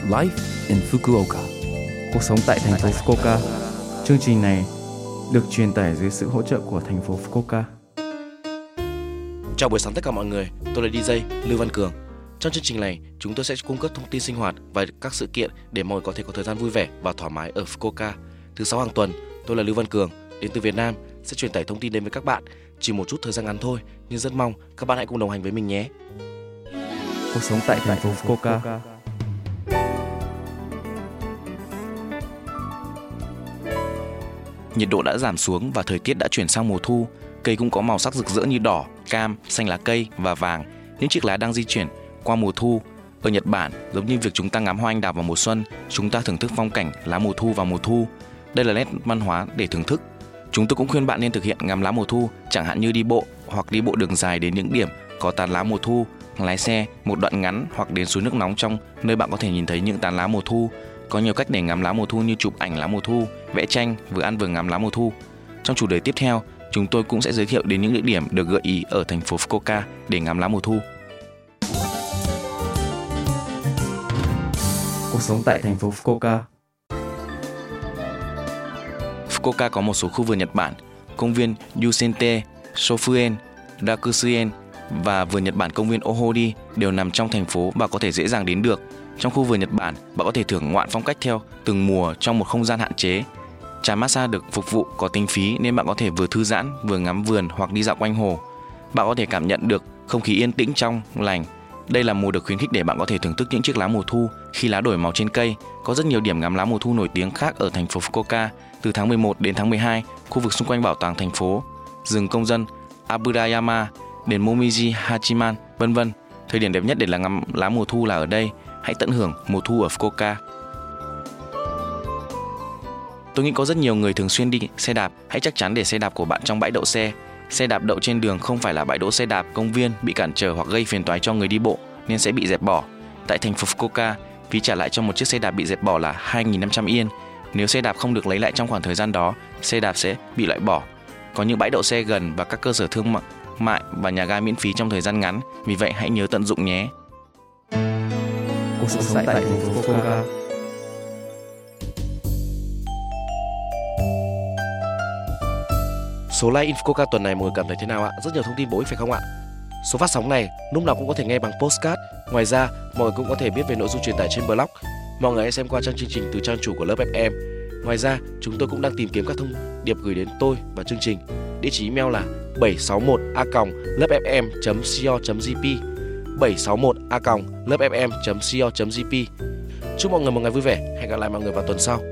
Life in Fukuoka. Cuộc sống tại thành phố Fukuoka. Chương trình này được truyền tải dưới sự hỗ trợ của thành phố Fukuoka. Chào buổi sáng tất cả mọi người, tôi là DJ Lưu Văn Cường. Trong chương trình này, chúng tôi sẽ cung cấp thông tin sinh hoạt và các sự kiện để mọi người có thể có thời gian vui vẻ và thoải mái ở Fukuoka. Thứ 6 hàng tuần, tôi là Lưu Văn Cường, đến từ Việt Nam, sẽ truyền tải thông tin đến với các bạn. Chỉ một chút thời gian ngắn thôi, nhưng rất mong các bạn hãy cùng đồng hành với mình nhé. Cuộc sống tại thành phố Fukuoka. Nhiệt độ đã giảm xuống và thời tiết đã chuyển sang mùa thu. Cây cũng có màu sắc rực rỡ như đỏ, cam, xanh lá cây và vàng. Những chiếc lá đang di chuyển qua mùa thu. Ở Nhật Bản, giống như việc chúng ta ngắm hoa anh đào vào mùa xuân, chúng ta thưởng thức phong cảnh lá mùa thu vào mùa thu. Đây là nét văn hóa để thưởng thức. Chúng tôi cũng khuyên bạn nên thực hiện ngắm lá mùa thu, chẳng hạn như đi bộ hoặc đi bộ đường dài đến những điểm có tán lá mùa thu, lái xe một đoạn ngắn hoặc đến suối nước nóng trong nơi bạn có thể nhìn thấy những tán lá mùa thu. Có nhiều cách để ngắm lá mùa thu như chụp ảnh lá mùa thu, vẽ tranh, vừa ăn vừa ngắm lá mùa thu. Trong chủ đề tiếp theo, chúng tôi cũng sẽ giới thiệu đến những địa điểm được gợi ý ở thành phố Fukuoka để ngắm lá mùa thu. Cuộc sống tại thành phố Fukuoka. Fukuoka có một số khu vườn Nhật Bản, công viên Yusente, Shofuen, Rakusuen và vườn Nhật Bản công viên Ohori đều nằm trong thành phố và có thể dễ dàng đến được. Trong khu vườn Nhật Bản, bạn có thể thưởng ngoạn phong cách theo từng mùa trong một không gian hạn chế. Trà massage được phục vụ có tính phí nên bạn có thể vừa thư giãn, vừa ngắm vườn hoặc đi dạo quanh hồ. Bạn có thể cảm nhận được không khí yên tĩnh trong lành. Đây là mùa được khuyến khích để bạn có thể thưởng thức những chiếc lá mùa thu khi lá đổi màu trên cây. Có rất nhiều điểm ngắm lá mùa thu nổi tiếng khác ở thành phố Fukuoka. Từ tháng 11 đến tháng 12, khu vực xung quanh bảo tàng thành phố, rừng công dân Aburayama, đền Momiji Hachiman, vân vân. Thời điểm đẹp nhất để ngắm lá mùa thu là ở đây. Hãy tận hưởng mùa thu ở Fukuoka. Tôi nghĩ có rất nhiều người thường xuyên đi xe đạp. Hãy chắc chắn để xe đạp của bạn trong bãi đậu xe. Xe đạp đậu trên đường không phải là bãi đỗ xe đạp công viên bị cản trở hoặc gây phiền toái cho người đi bộ nên sẽ bị dẹp bỏ. Tại thành phố Fukuoka, phí trả lại cho một chiếc xe đạp bị dẹp bỏ là 2.500 yên. Nếu xe đạp không được lấy lại trong khoảng thời gian đó, xe đạp sẽ bị loại bỏ. Có những bãi đậu xe gần và các cơ sở thương mại và nhà ga miễn phí trong thời gian ngắn, vì vậy hãy nhớ tận dụng nhé. Cuộc sống tại thành phố Fukuoka. Số like in Fukuoka tuần này mọi người cảm thấy thế nào ạ? Rất nhiều thông tin bổ ích phải không ạ? Số phát sóng này lúc nào cũng có thể nghe bằng podcast. Ngoài ra, mọi người cũng có thể biết về nội dung truyền tải trên blog. Mọi người hãy xem qua trang chương trình từ trang chủ của lớp FM. Ngoài ra, chúng tôi cũng đang tìm kiếm các thông điệp gửi đến tôi và chương trình. Địa chỉ email là 761a.lớpfm.co.jp 761a.lớpfm.co.jp. Chúc mọi người một ngày vui vẻ. Hẹn gặp lại mọi người vào tuần sau.